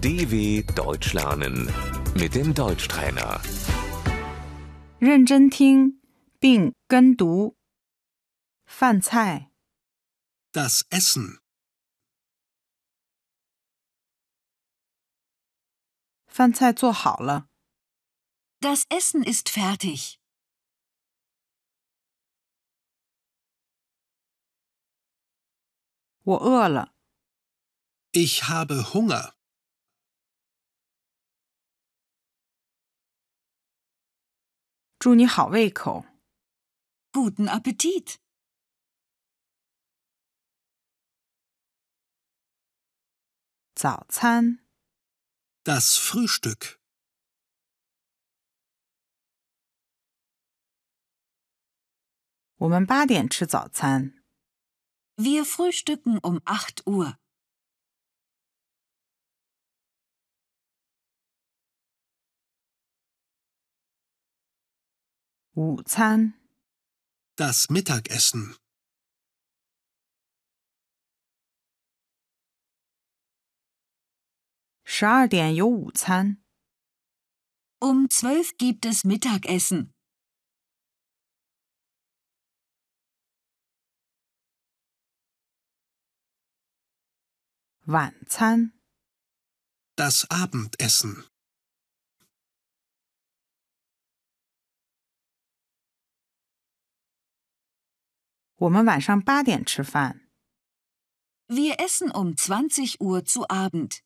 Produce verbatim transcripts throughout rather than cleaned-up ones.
D W Deutsch lernen mit dem Deutschtrainer. 认真听并跟读。饭菜， Das Essen. 饭菜做好了。 Das Essen ist fertig. 我饿了。 Ich habe Hunger. 祝你好胃口。 Guten Appetit. 早餐， Das Frühstück. 我们八点吃早餐。 Wir frühstücken um acht Uhr. 午餐， Das Mittagessen. 十二点有午餐。 Um zwölf gibt es Mittagessen. 晚餐， Das Abendessen. 我们晚上八点吃饭。 Wir essen um zwanzig Uhr zu Abend.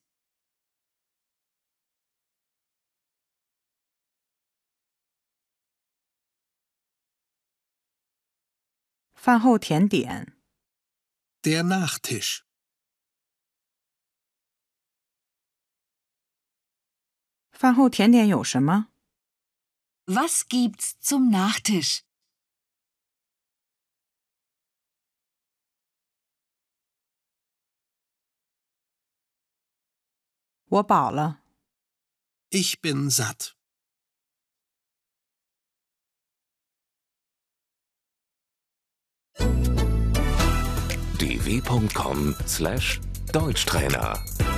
饭后甜点， Der Nachtisch. 饭后甜点有什么？ Was gibt's zum Nachtisch? 我饱了。 Ich bin satt. d w punkt com slash Deutschtrainer